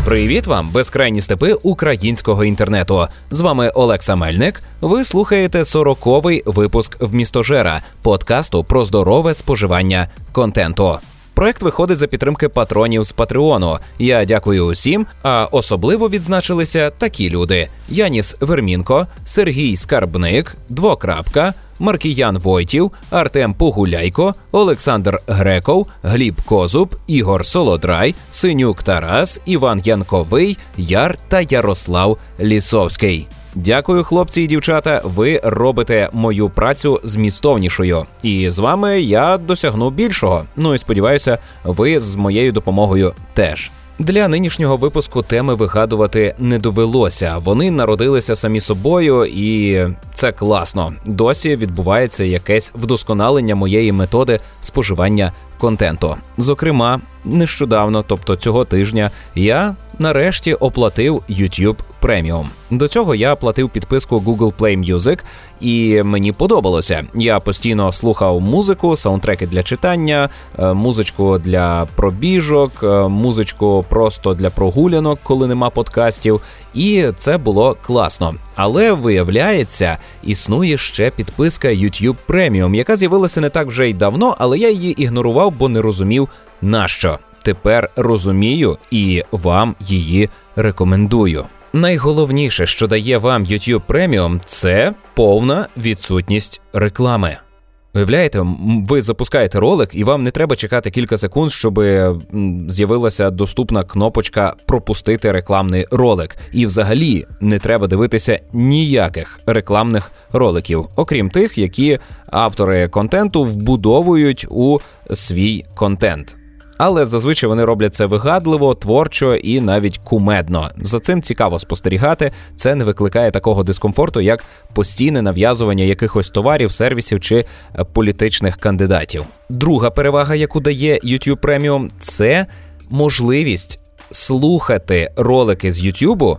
Привіт вам, безкрайні степи українського інтернету. З вами Олекса Мельник. Ви слухаєте 40-й випуск «Вмістожера» – подкасту про здорове споживання контенту. Проект виходить за підтримки патронів з Патреону. Я дякую усім, а особливо відзначилися такі люди: Яніс Вермінко, Сергій Скарбник, Двокрапка, Маркіян Войтів, Артем Погуляйко, Олександр Греков, Гліб Козуб, Ігор Солодрай, Синюк Тарас, Іван Янковий, Яр та Ярослав Лісовський. Дякую, хлопці і дівчата, ви робите мою працю змістовнішою. І з вами я досягну більшого. Ну і сподіваюся, ви з моєю допомогою теж. Для нинішнього випуску теми вигадувати не довелося. Вони народилися самі собою, і це класно. Досі відбувається якесь вдосконалення моєї методи споживання контенту. Зокрема, нещодавно, тобто цього тижня, я нарешті оплатив YouTube Premium. До цього я платив підписку Google Play Music, і мені подобалося. Я постійно слухав музику, саундтреки для читання, музичку для пробіжок, музичку просто для прогулянок, коли нема подкастів, і це було класно. Але, виявляється, існує ще підписка YouTube Premium, яка з'явилася не так вже й давно, але я її ігнорував, бо не розумів, нащо. Тепер розумію і вам її рекомендую. Найголовніше, що дає вам YouTube Premium, це повна відсутність реклами. Уявляєте, ви запускаєте ролик, і вам не треба чекати кілька секунд, щоб з'явилася доступна кнопочка «Пропустити рекламний ролик». І взагалі не треба дивитися ніяких рекламних роликів, окрім тих, які автори контенту вбудовують у свій контент. Але зазвичай вони роблять це вигадливо, творчо і навіть кумедно. За цим цікаво спостерігати, це не викликає такого дискомфорту, як постійне нав'язування якихось товарів, сервісів чи політичних кандидатів. Друга перевага, яку дає YouTube Premium, це можливість слухати ролики з YouTube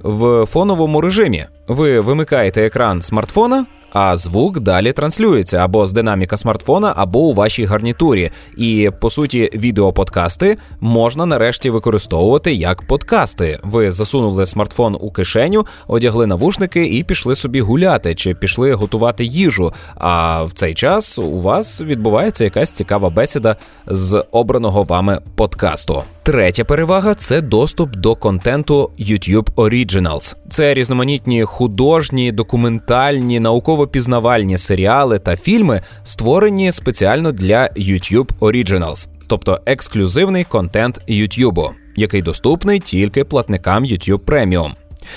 в фоновому режимі. Ви вимикаєте екран смартфона, а звук далі транслюється або з динаміка смартфона, або у вашій гарнітурі. І, по суті, відеоподкасти можна нарешті використовувати як подкасти. Ви засунули смартфон у кишеню, одягли навушники і пішли собі гуляти, чи пішли готувати їжу. А в цей час у вас відбувається якась цікава бесіда з обраного вами подкасту. Третя перевага – це доступ до контенту YouTube Originals. Це різноманітні художні, документальні, науково-пізнавальні серіали та фільми, створені спеціально для YouTube Originals, тобто ексклюзивний контент YouTube, який доступний тільки платникам YouTube Premium.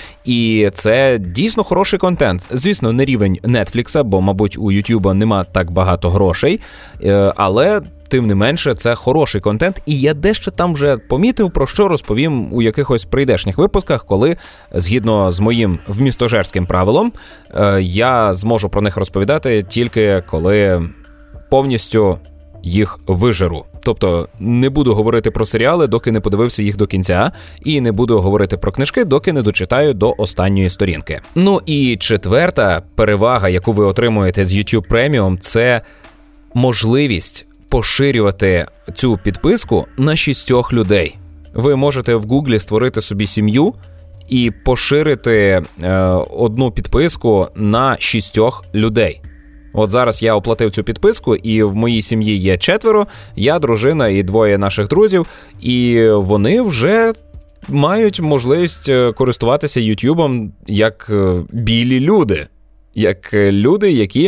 І це дійсно хороший контент. Звісно, не рівень Netflix, бо, мабуть, у YouTube нема так багато грошей, але тим не менше, це хороший контент, і я дещо там вже помітив, про що розповім у якихось прийдешніх випусках, коли, згідно з моїм вмістожерським правилом, я зможу про них розповідати тільки коли повністю їх вижеру. Тобто не буду говорити про серіали, доки не подивився їх до кінця, і не буду говорити про книжки, доки не дочитаю до останньої сторінки. Ну і четверта перевага, яку ви отримуєте з YouTube Premium, це можливість поширювати цю підписку на 6 людей. Ви можете в Гуглі створити собі сім'ю і поширити одну підписку на 6 людей. От зараз я оплатив цю підписку, і в моїй сім'ї є 4, я, дружина і 2 наших друзів, і вони вже мають можливість користуватися YouTube'ом як білі люди. Як люди, які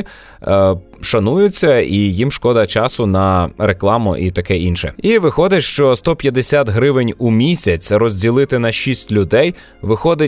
шануються і їм шкода часу на рекламу і таке інше. І виходить, що 150 гривень у місяць розділити на 6 людей виходить,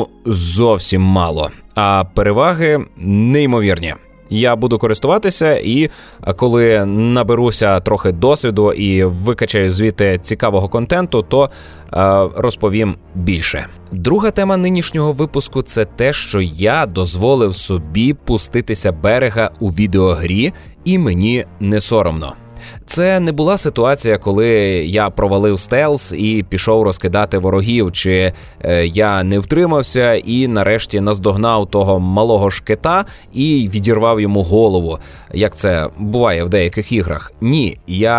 зовсім мало. А переваги неймовірні. Я буду користуватися, і коли наберуся трохи досвіду і викачаю звідти цікавого контенту, то розповім більше. Друга тема нинішнього випуску – це те, що я дозволив собі пуститися берега у відеогрі, і мені не соромно. Це не була ситуація, коли я провалив стелс і пішов розкидати ворогів, чи я не втримався і нарешті наздогнав того малого шкета і відірвав йому голову, як це буває в деяких іграх. Ні, я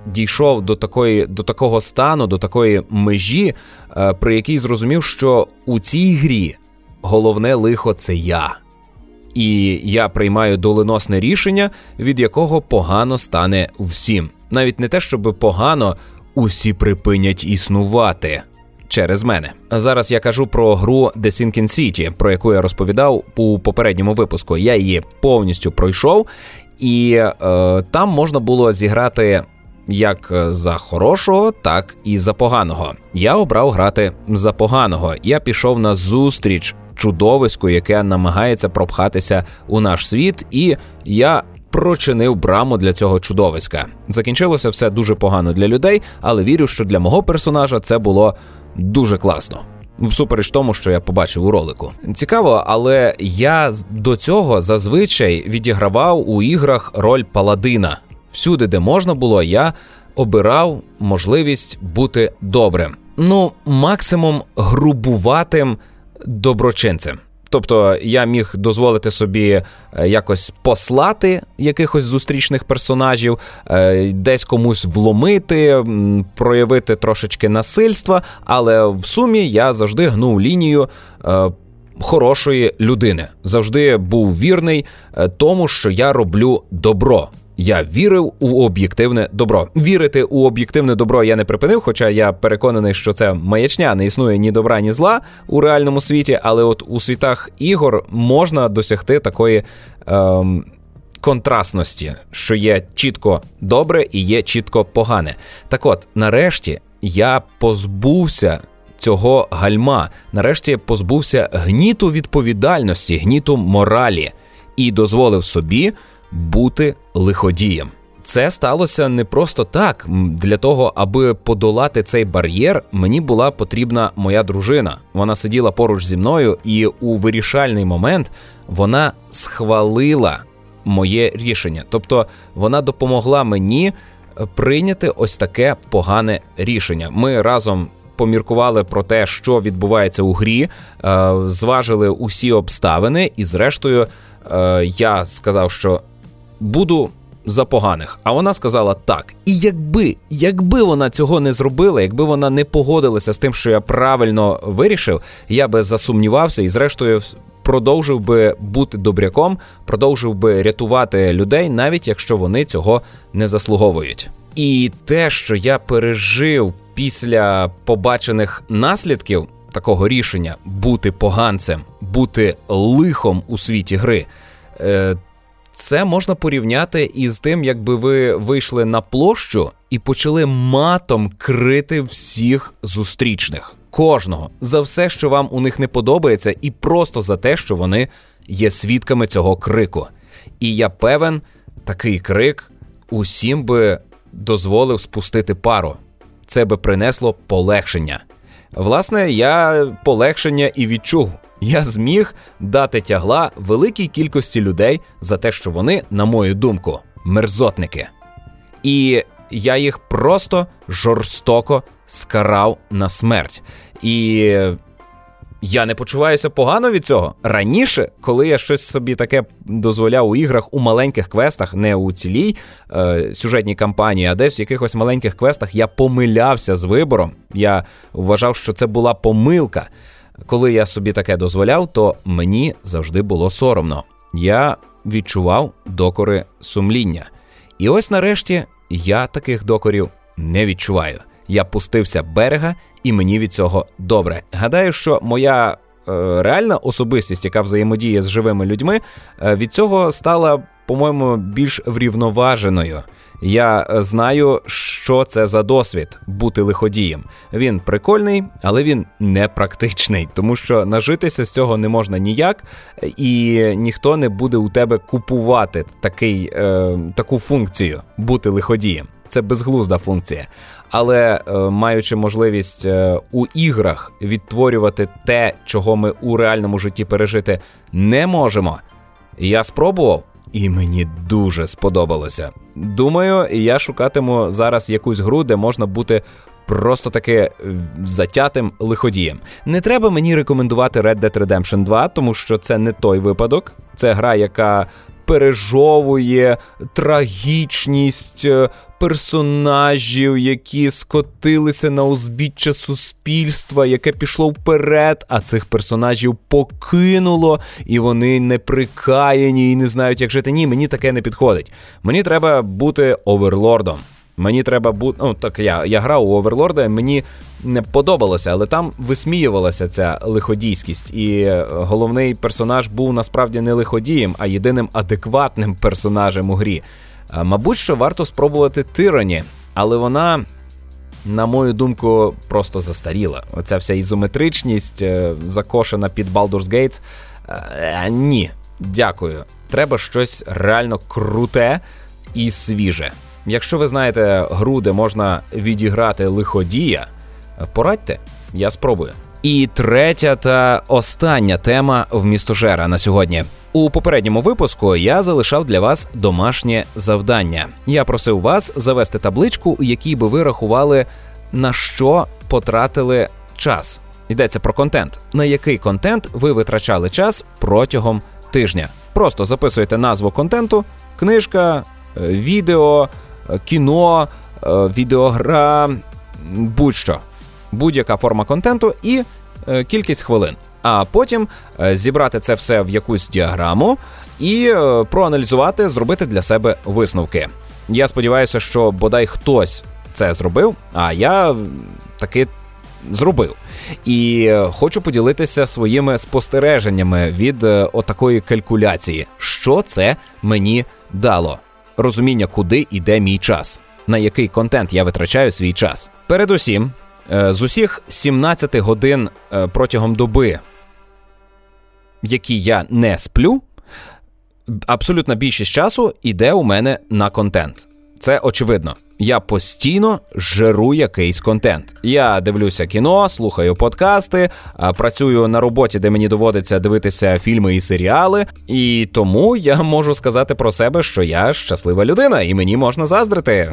дійшов до такого стану, до такої межі, при якій зрозумів, що у цій грі головне лихо – це я. І я приймаю доленосне рішення, від якого погано стане всім. Навіть не те, щоб погано, усі припинять існувати через мене. А зараз я кажу про гру The Sinking City, про яку я розповідав у попередньому випуску. Я її повністю пройшов, і там можна було зіграти як за хорошого, так і за поганого. Я обрав грати за поганого. Я пішов на зустріч чудовиську, яке намагається пропхатися у наш світ, і я прочинив браму для цього чудовиська. Закінчилося все дуже погано для людей, але вірю, що для мого персонажа це було дуже класно. Всупереч тому, що я побачив у ролику. Цікаво, але я до цього зазвичай відігравав у іграх роль паладина. Всюди, де можна було, я обирав можливість бути добрим. Максимум грубуватим доброчинцем. Тобто я міг дозволити собі якось послати якихось зустрічних персонажів, десь комусь вломити, проявити трошечки насильства, але в сумі я завжди гнув лінію хорошої людини. Завжди був вірний тому, що я роблю добро. Я вірив у об'єктивне добро. Вірити у об'єктивне добро я не припинив, хоча я переконаний, що це маячня, не існує ні добра, ні зла у реальному світі, але от у світах ігор можна досягти такої контрастності, що є чітко добре і є чітко погане. Так от, нарешті я позбувся цього гальма, нарешті позбувся гніту відповідальності, гніту моралі і дозволив собі бути лиходієм. Це сталося не просто так. Для того, аби подолати цей бар'єр, мені була потрібна моя дружина. Вона сиділа поруч зі мною, і у вирішальний момент вона схвалила моє рішення. Тобто вона допомогла мені прийняти ось таке погане рішення. Ми разом поміркували про те, що відбувається у грі, зважили усі обставини, і зрештою я сказав, що буду за поганих. А вона сказала так. І якби вона цього не зробила, якби вона не погодилася з тим, що я правильно вирішив, я би засумнівався і зрештою продовжив би бути добряком, продовжив би рятувати людей, навіть якщо вони цього не заслуговують. І те, що я пережив після побачених наслідків такого рішення бути поганцем, бути лихом у світі гри, це можна порівняти із тим, якби ви вийшли на площу і почали матом крити всіх зустрічних. Кожного. За все, що вам у них не подобається, і просто за те, що вони є свідками цього крику. І я певен, такий крик усім би дозволив спустити пару. Це би принесло полегшення. Власне, я полегшення і відчув. Я зміг дати тягла великій кількості людей за те, що вони, на мою думку, мерзотники. І я їх просто жорстоко скарав на смерть. І я не почуваюся погано від цього. Раніше, коли я щось собі таке дозволяв у іграх, у маленьких квестах, не у цілій сюжетній кампанії, а десь в якихось маленьких квестах, я помилявся з вибором. Я вважав, що це була помилка. Коли я собі таке дозволяв, то мені завжди було соромно. Я відчував докори сумління. І ось нарешті я таких докорів не відчуваю. Я пустився берега, і мені від цього добре. Гадаю, що моя реальна особистість, яка взаємодіє з живими людьми, від цього стала, по-моєму, більш врівноваженою. Я знаю, що це за досвід – бути лиходієм. Він прикольний, але він не практичний, тому що нажитися з цього не можна ніяк, і ніхто не буде у тебе купувати таку функцію – бути лиходієм. Це безглузда функція. Але маючи можливість у іграх відтворювати те, чого ми у реальному житті пережити не можемо, я спробував, і мені дуже сподобалося. Думаю, я шукатиму зараз якусь гру, де можна бути просто таки затятим лиходієм. Не треба мені рекомендувати Red Dead Redemption 2, тому що це не той випадок. Це гра, яка пережовує трагічність персонажів, які скотилися на узбіччя суспільства, яке пішло вперед, а цих персонажів покинуло, і вони неприкаяні і не знають, як жити. Ні, мені таке не підходить. Мені треба бути оверлордом. Мені треба бути... Ну, так я грав у Оверлорда, мені не подобалося, але там висміювалася ця лиходійськість. І головний персонаж був насправді не лиходієм, а єдиним адекватним персонажем у грі. Мабуть, що варто спробувати Tyranny, але вона, на мою думку, просто застаріла. Оця вся ізометричність, закошена під Baldur's Gate. Ні, дякую. Треба щось реально круте і свіже. Якщо ви знаєте гру, де можна відіграти лиходія, порадьте, я спробую. І третя та остання тема в «Містожера» на сьогодні. У попередньому випуску я залишав для вас домашнє завдання. Я просив вас завести табличку, у якій би ви рахували, на що потратили час. Йдеться про контент. На який контент ви витрачали час протягом тижня. Просто записуєте назву контенту, книжка, відео, кіно, відеогра, будь-що. Будь-яка форма контенту і кількість хвилин. А потім зібрати це все в якусь діаграму і проаналізувати, зробити для себе висновки. Я сподіваюся, що бодай хтось це зробив, а я таки зробив. І хочу поділитися своїми спостереженнями від отакої калькуляції. Що це мені дало? Розуміння, куди йде мій час, на який контент я витрачаю свій час. Передусім, з усіх 17 годин протягом доби, які я не сплю, абсолютна більшість часу йде у мене на контент. Це очевидно. Я постійно жиру якийсь контент. Я дивлюся кіно, слухаю подкасти, працюю на роботі, де мені доводиться дивитися фільми і серіали, і тому я можу сказати про себе, що я щаслива людина, і мені можна заздрити.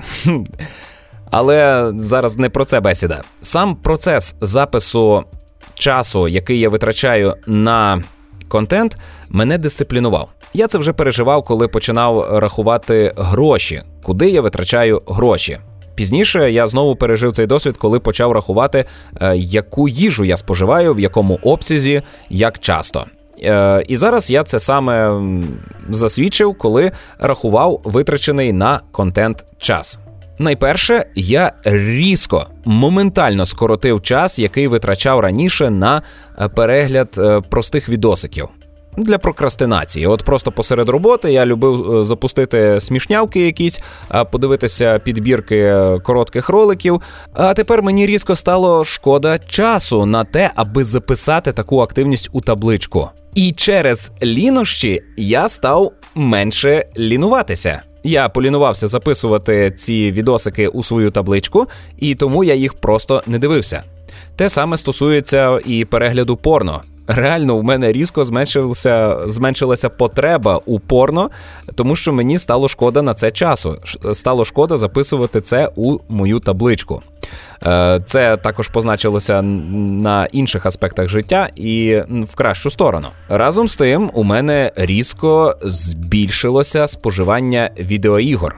Але зараз не про це бесіда. Сам процес запису часу, який я витрачаю на контент, мене дисциплінував. Я це вже переживав, коли починав рахувати гроші, куди я витрачаю гроші. Пізніше я знову пережив цей досвід, коли почав рахувати, яку їжу я споживаю, в якому обсязі, як часто. І зараз я це саме засвідчив, коли рахував витрачений на контент час. Найперше, я різко, моментально скоротив час, який витрачав раніше на перегляд простих відосиків. Для прокрастинації. От просто посеред роботи я любив запустити смішнявки якісь, подивитися підбірки коротких роликів, а тепер мені різко стало шкода часу на те, аби записати таку активність у табличку. І через лінощі я став менше лінуватися. Я полінувався записувати ці відосики у свою табличку, і тому я їх просто не дивився. Те саме стосується і перегляду порно. Реально, у мене різко зменшилася потреба у порно, тому що мені стало шкода на це часу. Стало шкода записувати це у мою табличку. Це також позначилося на інших аспектах життя і в кращу сторону. Разом з тим, у мене різко збільшилося споживання відеоігор.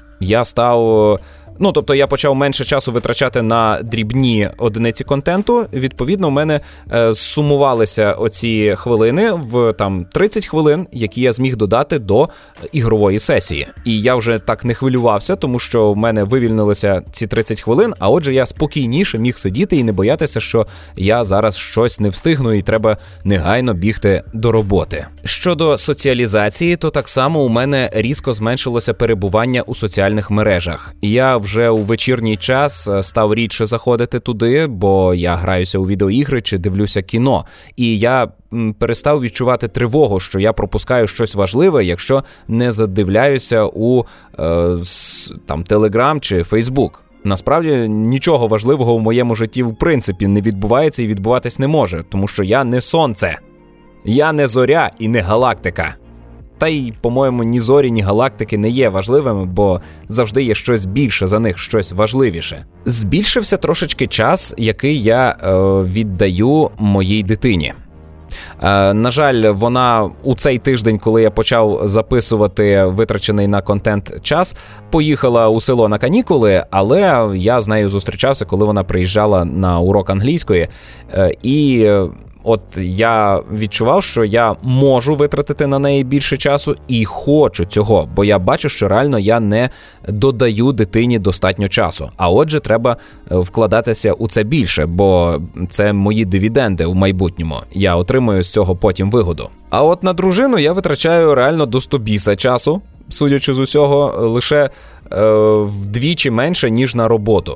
Я почав менше часу витрачати на дрібні одиниці контенту. Відповідно, у мене сумувалися оці хвилини в 30 хвилин, які я зміг додати до ігрової сесії. І я вже так не хвилювався, тому що в мене вивільнилися ці 30 хвилин, а отже я спокійніше міг сидіти і не боятися, що я зараз щось не встигну і треба негайно бігти до роботи. Щодо соціалізації, то так само у мене різко зменшилося перебування у соціальних мережах. Я вже у вечірній час став рідше заходити туди, бо я граюся у відеоігри чи дивлюся кіно. І я перестав відчувати тривогу, що я пропускаю щось важливе, якщо не задивляюся у Telegram чи Facebook. Насправді, нічого важливого в моєму житті в принципі не відбувається і відбуватись не може, тому що я не сонце. Я не зоря і не галактика. Та й, по-моєму, ні зорі, ні галактики не є важливими, бо завжди є щось більше за них, щось важливіше. Збільшився трошечки час, який я віддаю моїй дитині. На жаль, вона у цей тиждень, коли я почав записувати витрачений на контент час, поїхала у село на канікули, але я з нею зустрічався, коли вона приїжджала на урок англійської. І от я відчував, що я можу витратити на неї більше часу і хочу цього, бо я бачу, що реально я не додаю дитині достатньо часу. А отже, треба вкладатися у це більше, бо це мої дивіденди в майбутньому. Я отримую з цього потім вигоду. А от на дружину я витрачаю реально до 100 біса часу, судячи з усього, лише вдвічі менше, ніж на роботу.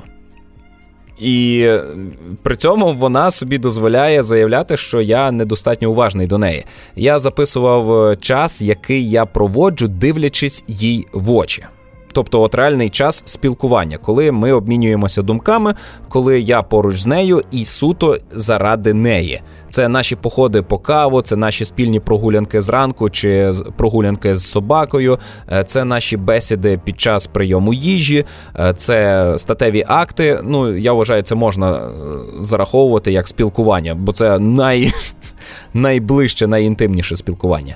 І при цьому вона собі дозволяє заявляти, що я недостатньо уважний до неї. Я записував час, який я проводжу, дивлячись їй в очі. Тобто от реальний час спілкування, коли ми обмінюємося думками, коли я поруч з нею і суто заради неї. Це наші походи по каву, це наші спільні прогулянки зранку чи прогулянки з собакою, це наші бесіди під час прийому їжі, це статеві акти. Ну, я вважаю, це можна зараховувати як спілкування, бо це найближче, найінтимніше спілкування.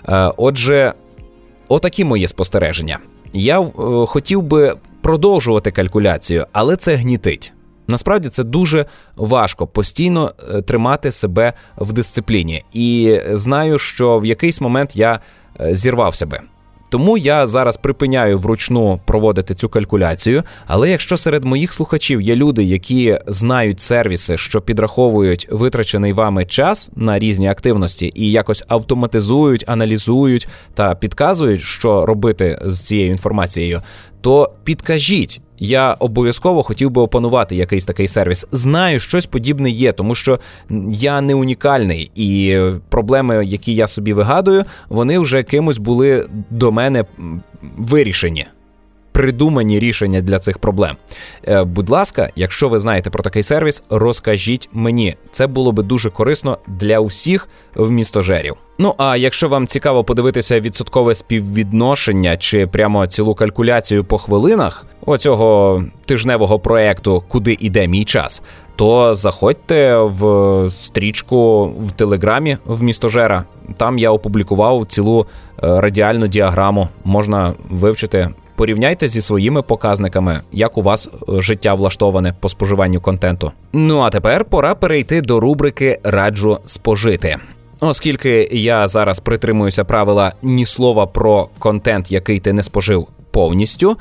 Отже, отакі мої спостереження. Я хотів би продовжувати калькуляцію, але це гнітить. Насправді це дуже важко постійно тримати себе в дисципліні. І знаю, що в якийсь момент я зірвав себе. Тому я зараз припиняю вручну проводити цю калькуляцію, але якщо серед моїх слухачів є люди, які знають сервіси, що підраховують витрачений вами час на різні активності і якось автоматизують, аналізують та підказують, що робити з цією інформацією, то підкажіть. Я обов'язково хотів би опанувати якийсь такий сервіс. Знаю, щось подібне є, тому що я не унікальний, і проблеми, які я собі вигадую, вони вже кимось були до мене вирішені. Придумані рішення для цих проблем. Будь ласка, якщо ви знаєте про такий сервіс, розкажіть мені. Це було би дуже корисно для усіх вмістожерів. Ну, а якщо вам цікаво подивитися відсоткове співвідношення чи прямо цілу калькуляцію по хвилинах оцього тижневого проекту «Куди іде мій час», то заходьте в стрічку в Телеграмі вмістожера. Там я опублікував цілу радіальну діаграму. Можна вивчити. Порівняйте зі своїми показниками, як у вас життя влаштоване по споживанню контенту. Ну а тепер пора перейти до рубрики «Раджу спожити». Оскільки я зараз притримуюся правила ні слова про контент, який ти не спожив повністю,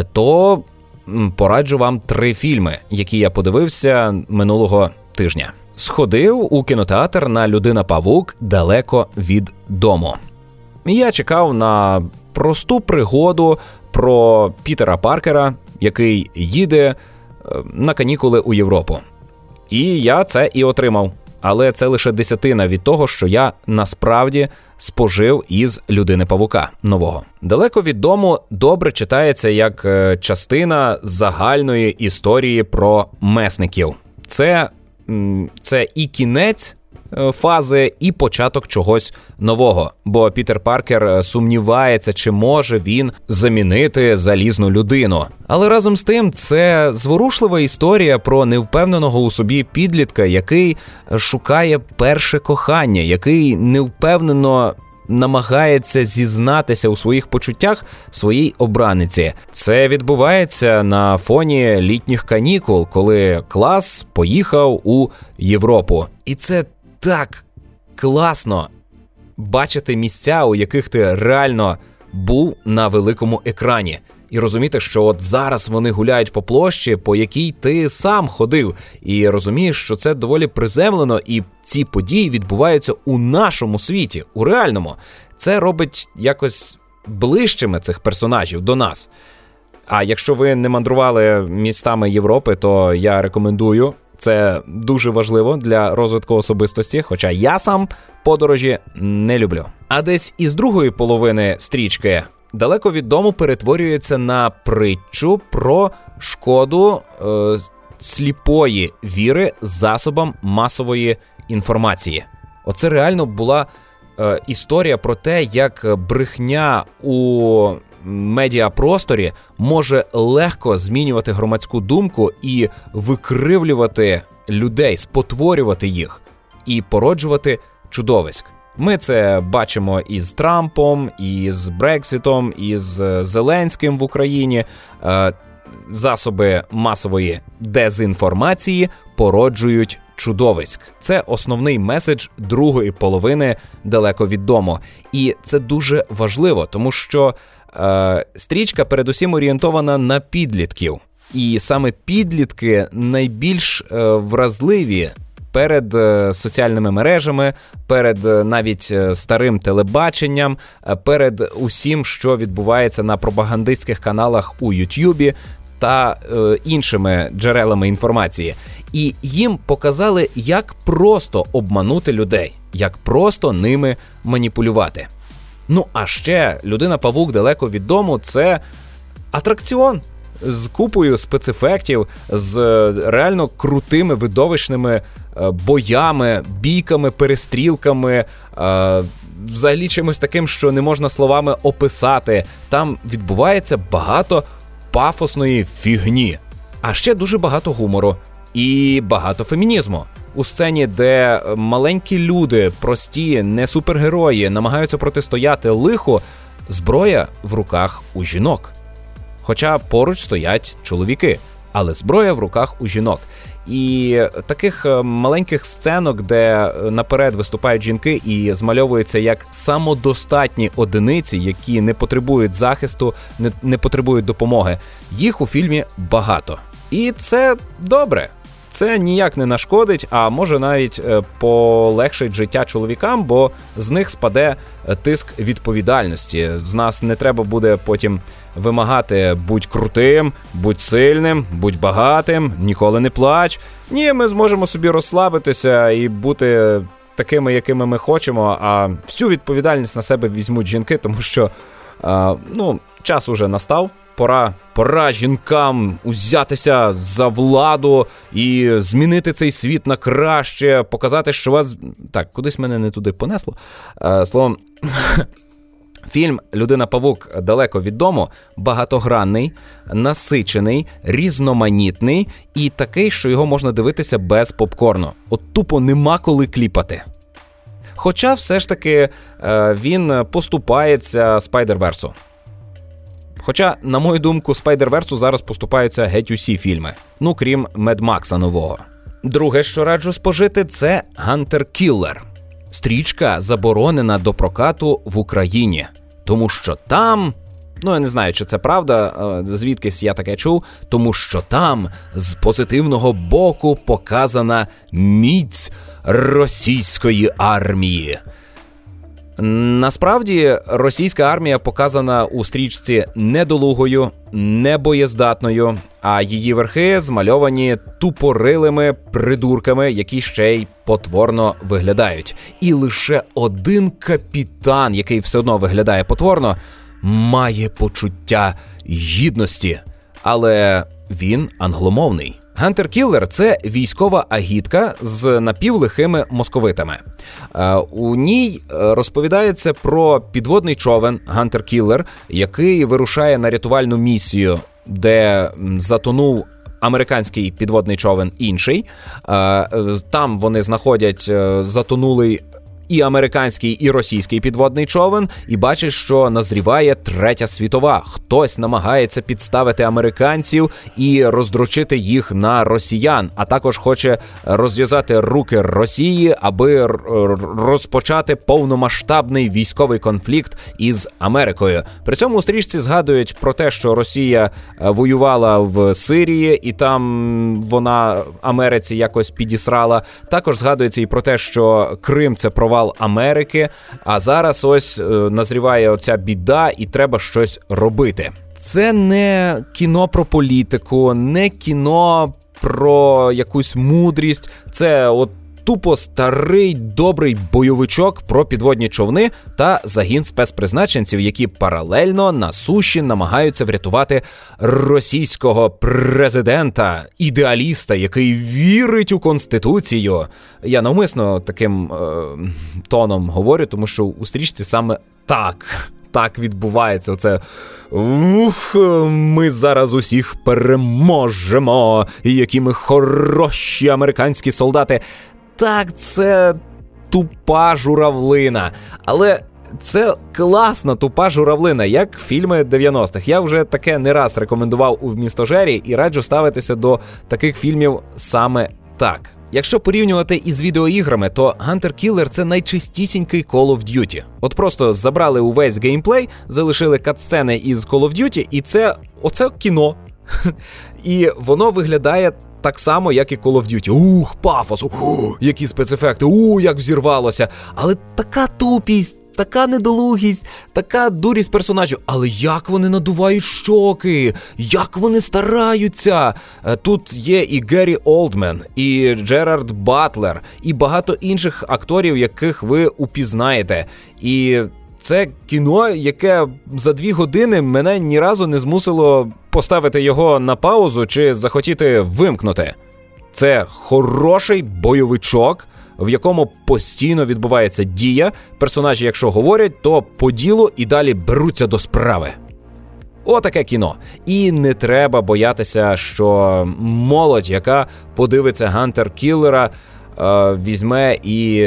то пораджу вам 3 фільми, які я подивився минулого тижня. Сходив у кінотеатр на «Людина-павук. Далеко від дому». Я чекав на просту пригоду про Пітера Паркера, який їде на канікули у Європу. І я це і отримав. Але це лише десятина від того, що я насправді спожив із «Людини-павука» нового. «Далеко від дому» добре читається як частина загальної історії про месників. Це і кінець фази, і початок чогось нового. Бо Пітер Паркер сумнівається, чи може він замінити залізну людину. Але разом з тим, це зворушлива історія про невпевненого у собі підлітка, який шукає перше кохання, який невпевнено намагається зізнатися у своїх почуттях своїй обраниці. Це відбувається на фоні літніх канікул, коли клас поїхав у Європу. І це так класно бачити місця, у яких ти реально був на великому екрані. І розуміти, що от зараз вони гуляють по площі, по якій ти сам ходив. І розумієш, що це доволі приземлено, і ці події відбуваються у нашому світі, у реальному. Це робить якось ближчими цих персонажів до нас. А якщо ви не мандрували містами Європи, то я рекомендую. Це дуже важливо для розвитку особистості, хоча я сам подорожі не люблю. А десь із другої половини стрічки «Далеко від дому» перетворюється на притчу про шкоду сліпої віри засобам масової інформації. Оце реально була історія про те, як брехня у медіапросторі може легко змінювати громадську думку і викривлювати людей, спотворювати їх і породжувати чудовиськ. Ми це бачимо із Трампом, із Брекситом, із Зеленським в Україні. Засоби масової дезінформації породжують чудовиськ. Це основний меседж другої половини «Далеко від дому». І це дуже важливо, тому що стрічка передусім орієнтована на підлітків. І саме підлітки найбільш вразливі перед соціальними мережами, перед навіть старим телебаченням, перед усім, що відбувається на пропагандистських каналах у Ютубі та іншими джерелами інформації. І їм показали, як просто обманути людей, як просто ними маніпулювати. Ну, а ще «Людина-павук. Далеко від дому» – це атракціон з купою спецефектів, з реально крутими, видовищними боями, бійками, перестрілками, взагалі чимось таким, що не можна словами описати. Там відбувається багато пафосної фігні. А ще дуже багато гумору і багато фемінізму. У сцені, де маленькі люди, прості, не супергерої, намагаються протистояти лиху, зброя в руках у жінок. Хоча поруч стоять чоловіки, але зброя в руках у жінок. І таких маленьких сценок, де наперед виступають жінки і змальовуються як самодостатні одиниці, які не потребують захисту, не потребують допомоги, їх у фільмі багато. І це добре. Це ніяк не нашкодить, а може навіть полегшить життя чоловікам, бо з них спаде тиск відповідальності. З нас не треба буде потім вимагати будь крутим, будь сильним, будь багатим, ніколи не плач. Ні, ми зможемо собі розслабитися і бути такими, якими ми хочемо, а всю відповідальність на себе візьмуть жінки, тому що час уже настав. Пора жінкам узятися за владу і змінити цей світ на краще, показати, що вас... Так, кудись мене не туди понесло. Словом, фільм «Людина-павук. Далеко від дому» багатогранний, насичений, різноманітний і такий, що його можна дивитися без попкорну. От тупо нема коли кліпати. Хоча все ж таки він поступається Спайдерверсу. Хоча, на мою думку, Спайдерверсу зараз поступаються геть усі фільми. Ну, крім Мед Макса нового. Друге, що раджу спожити, це «Гантер Кіллер». Стрічка заборонена до прокату в Україні. Тому що там... я не знаю, чи це правда, звідкись я таке чув, тому що там з позитивного боку показана міць російської армії. Насправді, російська армія показана у стрічці недолугою, небоєздатною, а її верхи змальовані тупорилими придурками, які ще й потворно виглядають. І лише один капітан, який все одно виглядає потворно, має почуття гідності. Але він англомовний. «Гантер Кіллер» – це військова агітка з напівлихими московитами. У ній розповідається про підводний човен «Гантер Кіллер», який вирушає на рятувальну місію, де затонув американський підводний човен інший. Там вони знаходять затонулий і американський, і російський підводний човен, і бачить, що назріває Третя світова. Хтось намагається підставити американців і роздрочити їх на росіян, а також хоче розв'язати руки Росії, аби розпочати повномасштабний військовий конфлікт із Америкою. При цьому у стрічці згадують про те, що Росія воювала в Сирії, і там вона Америці якось підісрала. Також згадується і про те, що Крим – це провал Америки, а зараз ось назріває оця біда і треба щось робити. Це не кіно про політику, не кіно про якусь мудрість, це от тупо старий добрий бойовичок про підводні човни та загін спецпризначенців, які паралельно на суші намагаються врятувати російського президента, ідеаліста, який вірить у Конституцію. Я навмисно таким тоном говорю, тому що у стрічці саме так відбувається. Оце ми зараз усіх переможемо, і які ми хороші американські солдати. Так, це тупа журавлина. Але це класна тупа журавлина, як фільми 90-х. Я вже таке не раз рекомендував у «Вмістожері» і раджу ставитися до таких фільмів саме так. Якщо порівнювати із відеоіграми, то Hunter Killer – це найчистісінький Call of Duty. От просто забрали увесь геймплей, залишили катсцени із Call of Duty, і оце кіно. І воно виглядає так само, як і Call of Duty. Пафос, які спецефекти, як взірвалося. Але така тупість, така недолугість, така дурість персонажів. Але як вони надувають щоки, як вони стараються. Тут є і Геррі Олдмен, і Джерард Батлер, і багато інших акторів, яких ви упізнаєте. І це кіно, яке за 2 години мене ні разу не змусило поставити його на паузу чи захотіти вимкнути. Це хороший бойовичок, в якому постійно відбувається дія. Персонажі, якщо говорять, то по ділу і далі беруться до справи. Отаке кіно. І не треба боятися, що молодь, яка подивиться Hunter Killer, візьме і,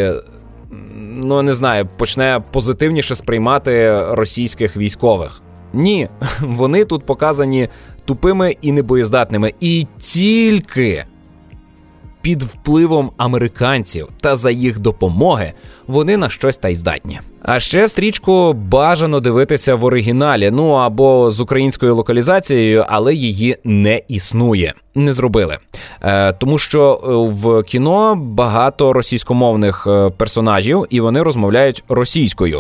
не знаю, почне позитивніше сприймати російських військових. Ні, вони тут показані тупими і небоєздатними. І тільки під впливом американців та за їх допомоги вони на щось та й здатні. А ще стрічку бажано дивитися в оригіналі, або з українською локалізацією, але її не існує. Не зробили. Тому що в кіно багато російськомовних персонажів, і вони розмовляють російською.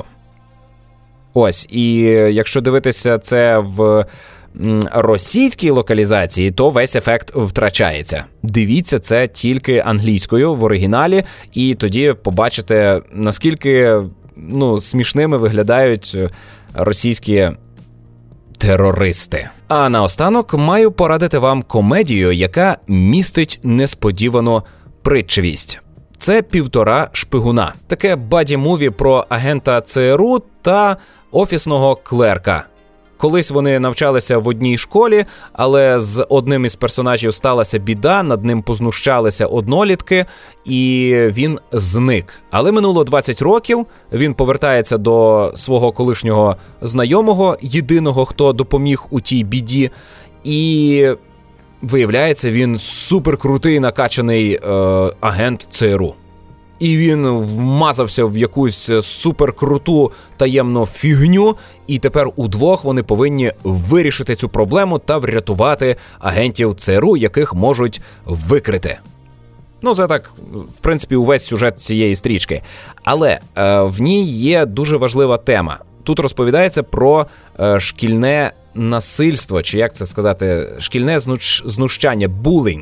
Ось, і якщо дивитися це в російській локалізації, то весь ефект втрачається. Дивіться це тільки англійською в оригіналі, і тоді побачите, наскільки смішними виглядають російські терористи. А наостанок маю порадити вам комедію, яка містить несподівану притчивість. Це «Півтора шпигуна». Таке баді-муві про агента ЦРУ та офісного клерка. Колись вони навчалися в одній школі, але з одним із персонажів сталася біда, над ним познущалися однолітки, і він зник. Але минуло 20 років, він повертається до свого колишнього знайомого, єдиного, хто допоміг у тій біді, і виявляється, він суперкрутий накачаний агент ЦРУ. І він вмазався в якусь суперкруту таємну фігню, і тепер удвох вони повинні вирішити цю проблему та врятувати агентів ЦРУ, яких можуть викрити. Це так, в принципі, увесь сюжет цієї стрічки. Але в ній є дуже важлива тема. Тут розповідається про шкільне насильство, чи як це сказати, шкільне знущання, булінг,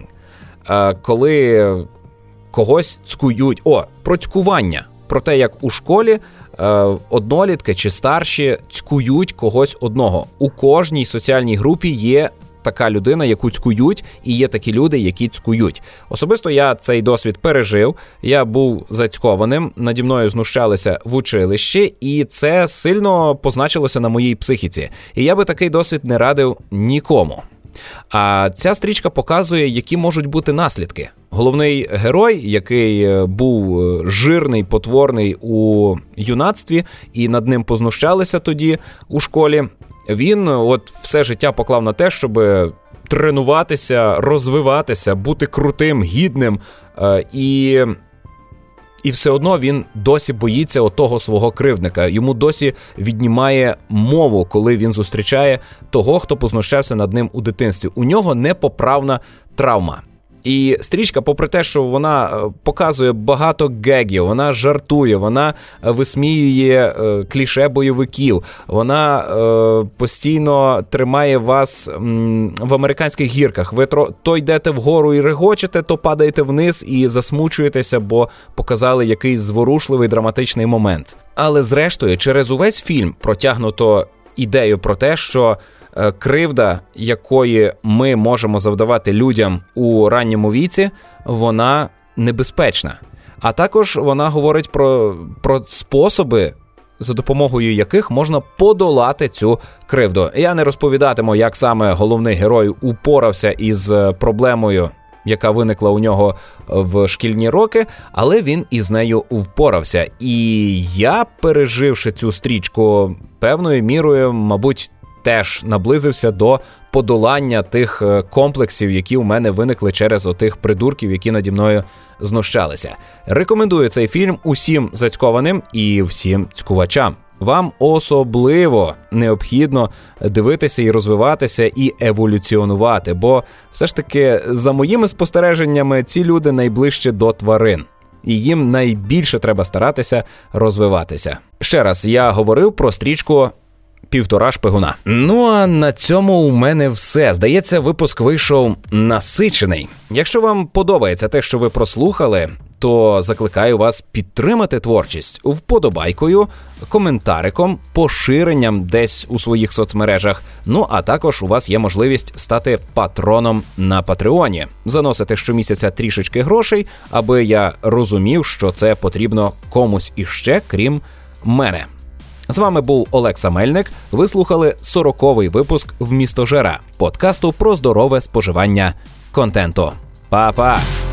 коли когось цькують. Про цькування. Про те, як у школі однолітки чи старші цькують когось одного. У кожній соціальній групі є така людина, яку цькують, і є такі люди, які цькують. Особисто я цей досвід пережив. Я був зацькованим, наді мною знущалися в училищі, і це сильно позначилося на моїй психіці. І я би такий досвід не радив нікому. А ця стрічка показує, які можуть бути наслідки. Головний герой, який був жирний, потворний у юнацтві, і над ним познущалися тоді у школі, він все життя поклав на те, щоб тренуватися, розвиватися, бути крутим, гідним, і все одно він досі боїться того свого кривдника. Йому досі віднімає мову, коли він зустрічає того, хто познущався над ним у дитинстві. У нього непоправна травма. І стрічка, попри те, що вона показує багато гегів, вона жартує, вона висміює кліше бойовиків, вона постійно тримає вас в американських гірках. Ви то йдете вгору і регочете, то падаєте вниз і засмучуєтеся, бо показали якийсь зворушливий драматичний момент. Але зрештою, через увесь фільм протягнуто ідею про те, що кривда, якої ми можемо завдавати людям у ранньому віці, вона небезпечна. А також вона говорить про способи, за допомогою яких можна подолати цю кривду. Я не розповідатиму, як саме головний герой упорався із проблемою яка виникла у нього в шкільні роки, але він із нею впорався. І я, переживши цю стрічку, певною мірою, мабуть, теж наблизився до подолання тих комплексів, які у мене виникли через отих придурків, які наді мною знущалися. Рекомендую цей фільм усім зацькованим і всім цькувачам. Вам особливо необхідно дивитися і розвиватися, і еволюціонувати, бо все ж таки, за моїми спостереженнями, ці люди найближче до тварин. І їм найбільше треба старатися розвиватися. Ще раз, я говорив про стрічку «Півтора шпигуна». Ну а на цьому у мене все. Здається, випуск вийшов насичений. Якщо вам подобається те, що ви прослухали, то закликаю вас підтримати творчість вподобайкою, коментариком, поширенням десь у своїх соцмережах. Ну, а також у вас є можливість стати патроном на Патреоні. Заносити щомісяця трішечки грошей, аби я розумів, що це потрібно комусь іще, крім мене. З вами був Олекса Мельник. Ви слухали 40-й випуск «Вмістожера» – подкасту про здорове споживання контенту. Па-па!